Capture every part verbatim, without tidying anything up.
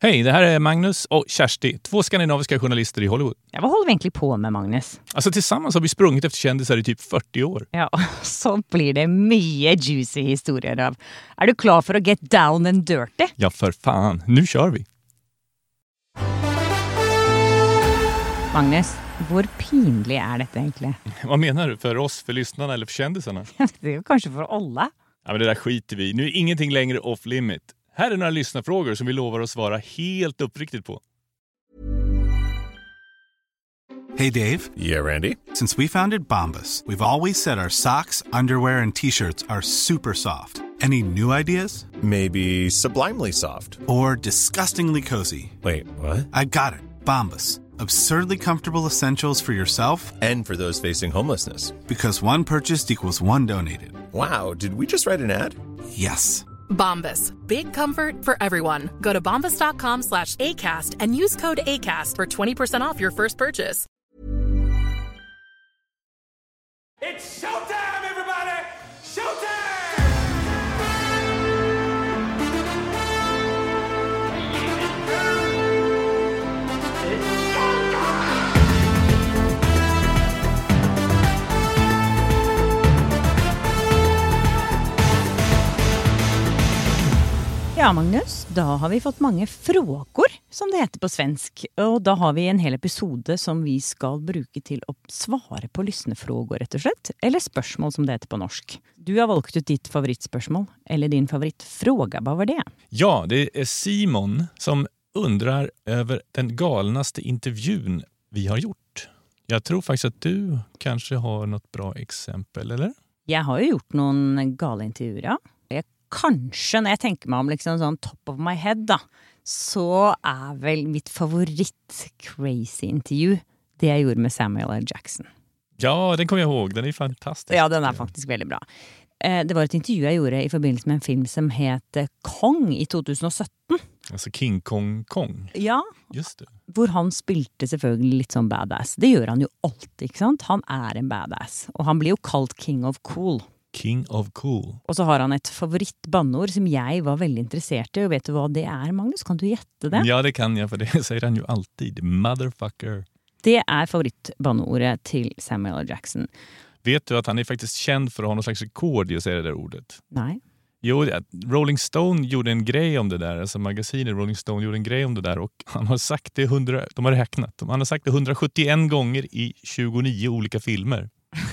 Hej, det här är Magnus och Kersti, två skandinaviska journalister i Hollywood. Ja, vad håller vi egentligen på med, Magnus? Alltså tillsammans har vi sprungit efter kändisar i typ fyrtio år. Ja, så blir det mycket juicy historier av. Är du klar för att get down and dirty? Ja, för fan. Nu kör vi. Magnus, hur pinlig är detta egentligen? Vad menar du? För oss, för lyssnarna eller för kändisarna? Det är kanske för alla. Ja, men det där skiter vi. Nu är ingenting längre off limit. Här är några lyssnarfrågor som vi lovar att svara helt uppriktigt på. Hey Dave. Yeah, Randy. Since we founded Bombas, we've always said our socks, underwear, and t-shirts are super soft. Any new ideas? Maybe sublimely soft. Or disgustingly cozy. Wait, what? I got it. Bombas. Absurdly comfortable essentials for yourself and for those facing homelessness. Because one purchased equals one donated. Wow, did we just write an ad? Yes. Bombas. Big comfort for everyone. Go to bombas.com slash ACAST and use code ACAST for twenty percent off your first purchase. It's showtime, everybody! Showtime! Ja, Magnus, då har vi fått många frågor, som det heter på svensk. Och då har vi en hel episode som vi ska bruka till att svara på lyssnefrågor, rätt och slett. Eller spørsmål, som det heter på norsk. Du har valt ut ditt favoritspørsmål, eller din favoritfråga. Vad var det? Ja, det är Simon som undrar över den galnaste intervjun vi har gjort. Jag tror faktiskt att du kanske har något bra exempel, eller? Jag har ju gjort någon galintervjuer, ja. Jag kanske, när jag tänker mig om liksom sån top of my head då, så är väl mitt favorit crazy intervju det jag gjorde med Samuel L. Jackson. Ja, den kommer jag ihåg. Den är fantastisk. Ja, den är faktiskt väldigt bra. Det var ett intervju jag gjorde i förbindelse med en film som heter Kong i tjugohundrasjutton. Alltså King Kong Kong. Ja. Just det. Hvor han spilte selvfølgelig litt som badass. Det gör han ju alltid, ikke sant? Han är en badass. Och han blir ju kallad King of Cool. King of Cool. Och så har han ett favoritbannord som jag var väldigt intresserad i. Och vet du vad det är, Magnus? Kan du gätta det? Ja, det kan jag, för det säger han ju alltid. Motherfucker. Det är favoritbannordet till Samuel L. Jackson. Vet du att han är faktiskt känd för att ha någon slags rekord i att säga det där ordet? Nej. Jo, Rolling Stone gjorde en grej om det där. Alltså magasinet Rolling Stone gjorde en grej om det där. Och han har sagt det hundra, de har räknat. Han har sagt det hundrasjuttioen gånger i tjugonio olika filmer.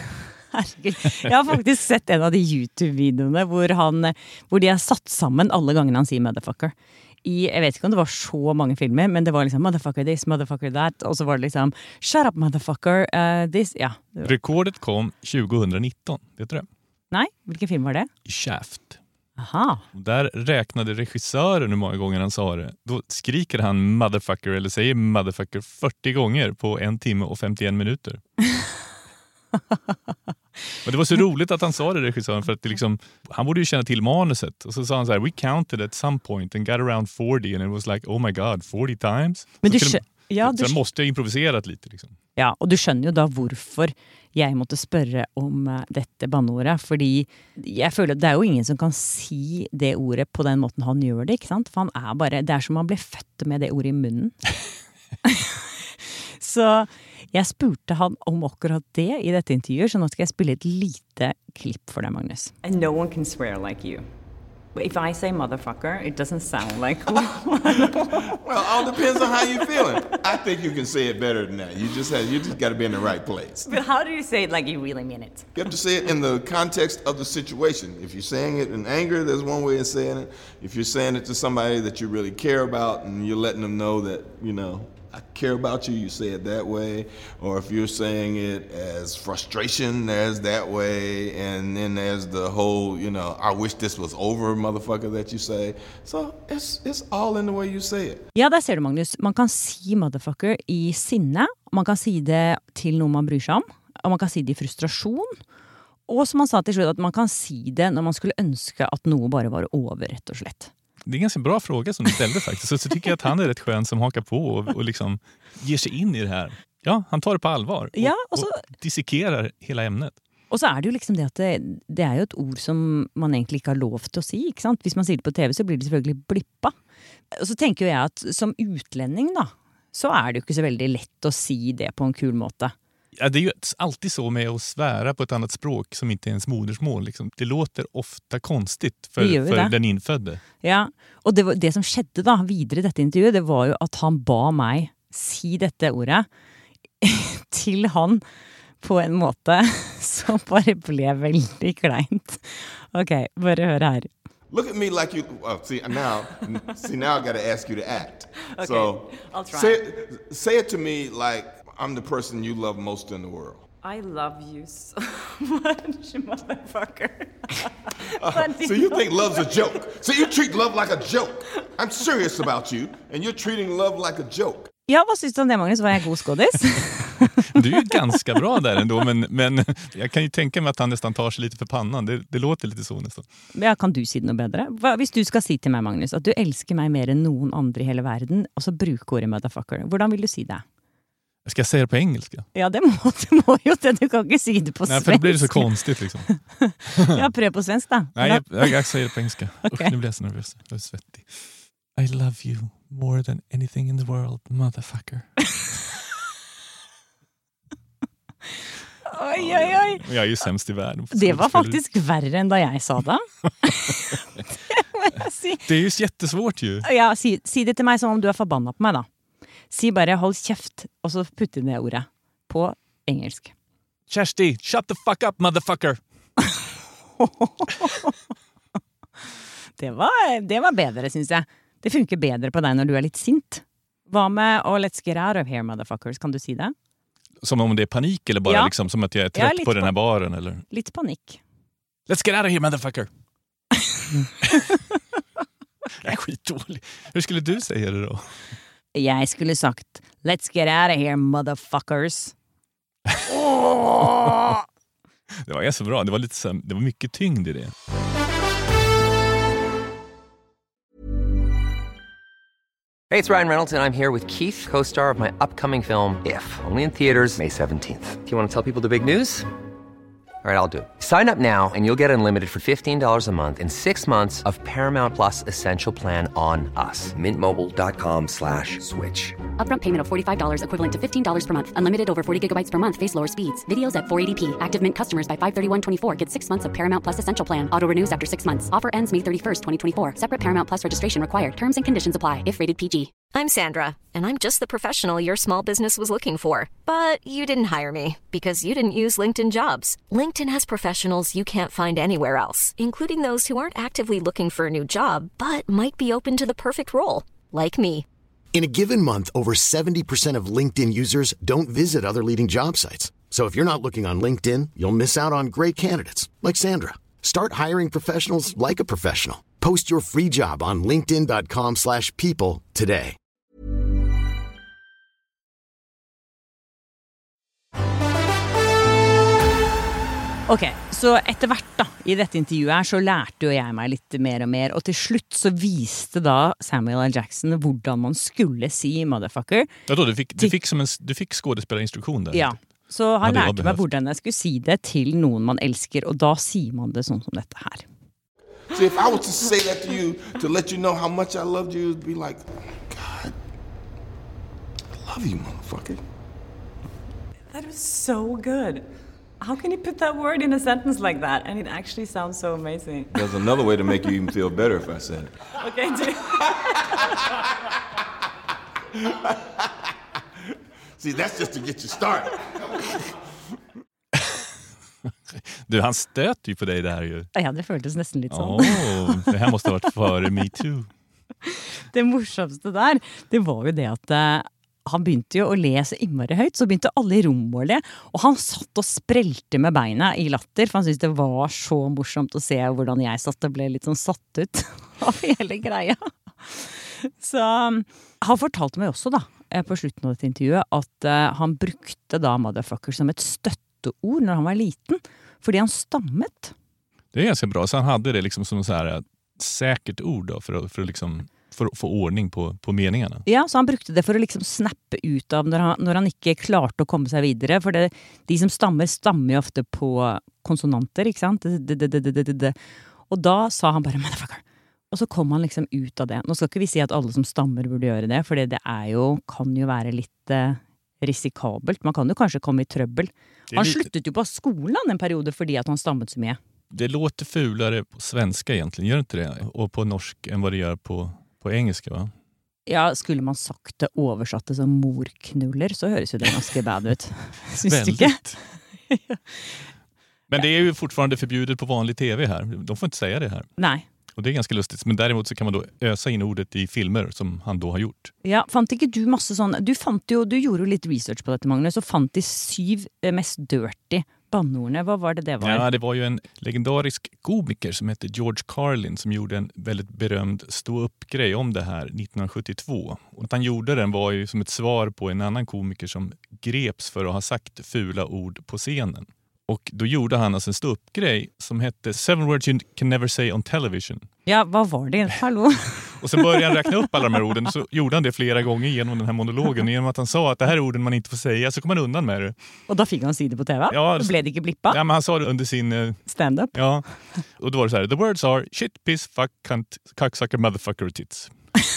Jag har faktiskt sett en av de YouTube-videorna hvor, han, hvor de har satt sammen alle gangene han sier motherfucker. I, jeg vet ikke om det var så mange filmer, men det var liksom motherfucker this, motherfucker that, og så var det liksom shut up motherfucker uh, this, ja. Rekordet kom tjugohundranitton, vet du det? Nej, vilken film var det? Shaft. Aha. Där räknade regissören hur många gånger han sa det. Då skriker han motherfucker eller säger motherfucker fyrtio gånger på en timme och femtioen minuter. Och det var så roligt att han sa det, regissören, för att det liksom, han borde ju känna till manuset. Och så sa han så här: we counted at some point and got around forty, and it was like, oh my god, forty times. Men du, så de, ja, så du måste jag improviserat lite liksom. Ja, och du skjønner jo da hvorfor jeg måtte spørre om uh, dette bannordet, fordi jeg føler at det er jo ingen som kan si det ordet på den måten han gjør det, ikke sant? For han er bare, det er som han ble født med det ordet i munnen. Så jeg spurte han om akkurat det i dette intervjuet, så nå skal jeg spille et lite klipp for deg, Magnus. And no one can swear like you. But if I say motherfucker, it doesn't sound like... Well, all depends on how you're feeling. I think you can say it better than that. You just have, you just got to be in the right place. But how do you say it like you really mean it? You have to say it in the context of the situation. If you're saying it in anger, there's one way of saying it. If you're saying it to somebody that you really care about and you're letting them know that, you know, I care about you, you say it that way. Or if you're saying it as frustration, there's that way. And then there's the whole, you know, I wish this was over, motherfucker, that you say. So it's, it's all in the way you say it. Ja, där ser du, Magnus. Man kan si motherfucker i sinne. Man kan si det till någon man bryr sig om. Och man kan si det i frustration. Och som man sa till slut, att man kan si det när man skulle önska att något bara var över, rätt och slett. Det är en ganska bra fråga som du ställde faktiskt. Så, så tycker jag att han är rätt skön som hakar på och, och liksom ger sig in i det här. Ja, han tar det på allvar. Och, ja, och, så, och dissekerar hela ämnet. Og så er det jo liksom det at det, det er jo et ord som man egentlig ikke har lov til å si, ikke sant? Hvis man sier det på T V så blir det selvfølgelig blippa. Og så tenker jo jeg at som utlending da, så er det jo ikke så veldig lett å si det på en kul måte. Ja, det är ju alltid så med att svära på ett annat språk som inte är ens modersmål. Liksom. Det låter ofta konstigt för, för den infödde. Ja, og det, var, det som skjedde da videre i dette intervjuet, det var jo at han ba meg si dette ordet til han på en måte som bare ble veldig kleint. Ok, bare hør her. Look at me like you. Oh, see now, see now I got to ask you to act. Okay, so I'll try. Say, say it to me like I'm the person you love most in the world. I love you so much, motherfucker. Uh, so you think love's a joke? So you treat love like a joke? I'm serious about you, and you're treating love like a joke. Ja, vad syns du om det, Magnus? Var jag god skådis? Du är ju ganska bra där ändå, men, men jag kan ju tänka mig att han nästan tar sig lite för pannan. Det, det låter lite så nästan. Ja, kan du si det noe bedre? Hva, hvis du skal si til meg, Magnus, at du elsker meg mer enn noen andre i hele verden, og så bruker ordet motherfucker, hvordan vil du si det? Ska jag säga det på engelska? Ja, det må, du må jo det. Du kan ikke si det på svensk. Nej, för det blir det så konstigt liksom. Ja, prøv på svensk da. Nej, jag, jag, jag säger det på engelska. Okay. Usch, nu blir jag så nervös. Jag är svettig. I love you more than anything in the world, motherfucker. Oj, oj, oj. Jag är ju sämst i världen. Det var faktisk värre än da jeg sa det. Det må jeg si. Det är ju jättesvårt ju. Ja, si, si det til meg som om du er forbanna på meg da. Si bare hold kjeft, og så putte det ordet på engelsk. Kersti, shut the fuck up, motherfucker. det, var, det var bedre, synes jeg. Det funker bedre på deg når du er litt sint. Hva med oh, let's get out of here, motherfuckers? Kan du si det? Som om det är panik eller bara ja. liksom, som att jag är trött ja, på den här baren? Eller? Lite panik. Let's get out of here, motherfucker. Jag är skitdålig. Hur skulle du säga det då? Jeg skulle sagt let's get out of here, motherfuckers. Oh! Det var ganska bra. Det var, lite, det var mycket tyngd i det. Hey, it's Ryan Reynolds, and I'm here with Keith, co-star of my upcoming film, If, only in theaters May seventeenth. Do you want to tell people the big news? All right, I'll do it. Sign up now and you'll get unlimited for fifteen dollars a month and six months of Paramount Plus Essential Plan on us. Mint Mobile dot com slash switch. Upfront payment of forty-five dollars equivalent to fifteen dollars per month. Unlimited over forty gigabytes per month. Face lower speeds. Videos at four eighty p. Active Mint customers by five thirty-one twenty-four get six months of Paramount Plus Essential Plan. Auto renews after six months. Offer ends May thirty-first, twenty twenty-four. Separate Paramount Plus registration required. Terms and conditions apply if rated P G. I'm Sandra, and I'm just the professional your small business was looking for. But you didn't hire me because you didn't use LinkedIn Jobs. LinkedIn has professionals you can't find anywhere else, including those who aren't actively looking for a new job, but might be open to the perfect role, like me. In a given month, over seventy percent of LinkedIn users don't visit other leading job sites. So if you're not looking on LinkedIn, you'll miss out on great candidates like Sandra. Start hiring professionals like a professional. Post your free job on linkedin dot com slash people today. Ok, så etter hvert da, i dette intervjuet her, så lærte jo jeg meg litt mer og mer, og til slutt så viste da Samuel L. Jackson hvordan man skulle si motherfucker. Ja, då, du fikk, du fikk, som en, du fikk skådespelerinstruktion der. Ja, så han ja, lærte meg hvordan jeg skulle si det til noen man elsker, og da sier man det sånn som dette her. So if I was to say that to you, to let you know how much I loved you, it'd be like, God, I love you, motherfucker. That was so good. How can you put that word in a sentence like that? And it actually sounds so amazing. There's another way to make you even feel better if I said it. Okay, do See, that's just to get you started. Du, han stöter ju på dig där ju. Ja, det føltes nesten litt sånn. Oh, det här måste ha varit före Me Too. Det morsomste der, det var jo det at uh, han begynte jo å lese innmari høyt, så begynte alle i rommet å le, og han satt og sprelte med beina i latter, for han syntes det var så morsomt å se hvordan jeg satt og ble litt sånn satt ut av hele greia. Så um, han fortalte meg også da, på slutten av dette intervjuet, at uh, han brukte da motherfucker som et støtteord når han var liten, fordi han stammet. Det är ganska bra, så han hade det liksom som så här säkert ord då, för att, för att liksom för att få ordning på, på meningarna. Ja, så han brukte det for å liksom snappe ut av når han, når han ikke klarte å komme seg videre. For det, de som stammer, stammer jo ofte på konsonanter, ikke sant? Det, det, det, det, det, det. Og da sa han bare, motherfucker. Og så kom han liksom ut av det. Nå skal ikke vi si at alle som stammer burde gjøre det, for det er jo, kan jo være litt eh, risikabelt. Man kan jo kanskje komme i trøbbel. Han lite... sluttet jo på skolen en periode fordi at han stammet så mye. Det låter fulare på svenska egentligen, gör inte det? Och på norsk än vad det gör på, på engelska, va? Ja, skulle man sagt det oversatte som morknuller, så høres jo det ganske bad ut. Syns du ikke? Men det är ju fortfarande förbjudet på vanlig tv här. De får inte säga det här. Nej. Och det är ganska lustigt. Men däremot så kan man då ösa in ordet i filmer som han då har gjort. Ja, fant ikke du masse sånn... Du fant jo, du gjorde jo litt research på dette, Magnus, og fant de syv mest dirty bannordene. Vad var det det var? Ja, det var ju en legendarisk komiker som hette George Carlin som gjorde en väldigt berömd stå-upp-grej om det här nittonhundrasjuttiotvå. Och att han gjorde den var ju som ett svar på en annan komiker som greps för att ha sagt fula ord på scenen. Och då gjorde han alltså en stå-upp-grej som hette Seven words you can never say on television. Ja, vad var det? Hallå? Och sen började han räkna upp alla de här orden, så gjorde han det flera gånger genom den här monologen. Genom att han sa att det här är orden man inte får säga, så kom han undan med det. Och då fick han se det på tv? Ja, då blev det inte blippa? Ja, men han sa det under sin... Uh, stand-up? Ja, och då var det så här: the words are shit, piss, fuck, cunt, cocksucker, motherfucker, tits.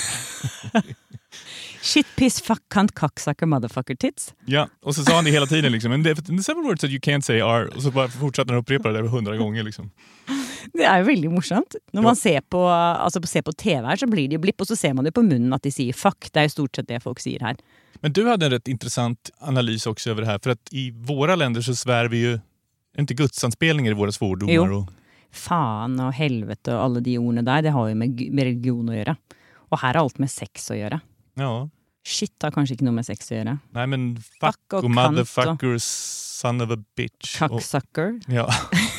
Shit, piss, fuck, cunt, cocksucker, motherfucker, tits. Ja, och så sa han det hela tiden liksom. And the seven words that you can't say are... Och så bara fortsatte han upprepa det där hundra gånger liksom. Det är ju väldigt morsomt. När man ser på, alltså ser på tv här så blir det ju blipp, och så ser man det på munnen att de säger fuck. Det är ju stort sett det folk säger här. Men du hade en rätt intressant analys också över det här. För att i våra länder så svär vi ju inte gudsanspelningar i våra svordomar. Jo. Och... Fan och helvete och alla de orden där, det har ju med, med religion att göra. Och här har allt med sex att göra. Ja. Shit har kanske inte något med sex att göra. Nej, men fuck, fuck och, och motherfucker, och... son of a bitch. Cocksucker. Och... Ja.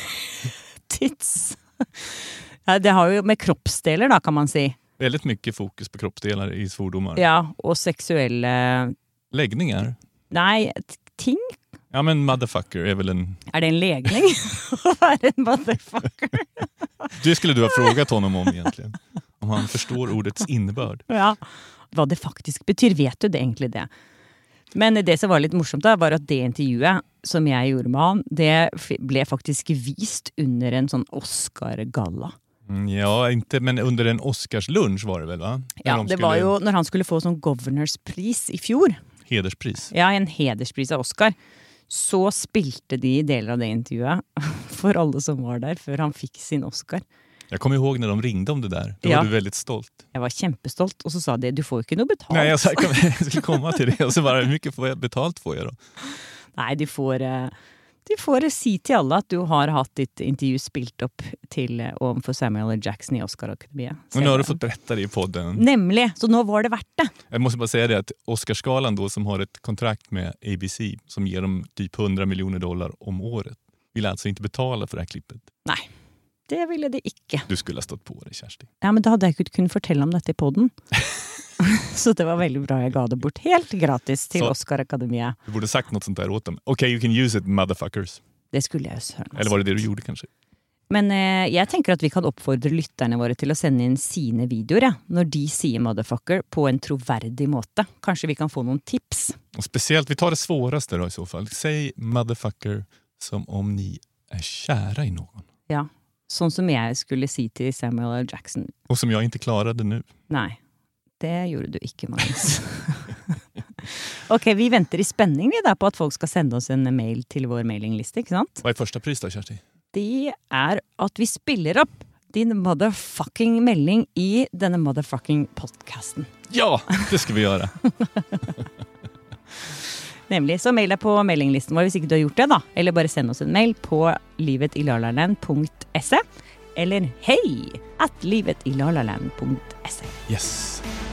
Tits. Ja, det har ju med kroppsdelar då, kan man säga. Väldigt mycket fokus på kroppsdelar i svordomar. Ja, och sexuella... Läggningar? Nej, ting. Ja, men motherfucker är väl en... Är det en läggning? Vad är en motherfucker? Det skulle du ha frågat honom om egentligen. Om han förstår ordets innebörd. Ja, vad det faktiskt betyder, vet du det egentligen det? Men det som var lite morsomt da, var att det intervjuet som jag gjorde med han, det blev faktiskt vist under en sån Oscar-galla. Mm, ja, inte, men under en Oscarslunch var det väl, va? När Ja, de det skulle... var ju när han skulle få sån Governors pris i fjol. Hederspris. Ja, en hederspris av Oscar. Så spilte de delar av det intervjuet för alla som var där, för han fick sin Oscar. Jag kommer ihåg när de ringde om det där. Då ja. var du väldigt stolt. Jag var kämpestolt, och så sa de, du får ju inte något betalt. Nej, jag, sa, jag skulle komma till det. Och så bara, hur mycket får jag betalt får jag då? Nej, du får, du får si till alla att du har haft ditt intervju spilt upp till om för Samuel L. Jackson i Oscar-akademiet. Och nu har du fått berätta det i podden. Nämligen, så nu var det värt det. Jag måste bara säga det att Oscarskalan då, som har ett kontrakt med A B C som ger dem typ hundra miljoner dollar om året, vill alltså inte betala för det här klippet. Nej. Det ville det ikke. Du skulle ha stått på det, Kjersti. Ja, men da hadde jeg ikke kunnet fortelle om dette i podden. Så det var väldigt bra. Jag gav det bort helt gratis till Oscar-akademiet. Du borde sagt något sånt där åt dem. Okej, okay, you can use it, motherfuckers. Det skulle jag ju höra. Eller var det det du gjorde kanske? Men eh, jag tänker att vi kan uppfordra lytterne våre till att sända in sina videor, ja, när de säger motherfucker på en trovärdig måte. Kanske vi kan få någon tips. Och speciellt, vi tar det svåraste då i så fall. Säg motherfucker som om ni är kära i någon. Ja. Sånn som jag skulle si till Samuel L. Jackson. Och som jag inte klarade nu. Nej, det gjorde du inte, Magnus. Okej, vi väntar i spänning vi där på att folk ska sända oss en mail till vår mailinglista, inte sant? Vad är första pris då, Kjersti? Det är att vi spiller upp din motherfucking melding i denna motherfucking podcasten. Ja, det ska vi göra. Nämligen så maila på mailinglisten vår hvis ikke du har gjort det da. Eller bare send oss en mail på livetilalalaland punkt se eller hej at livetilalalaland punkt se. Yes.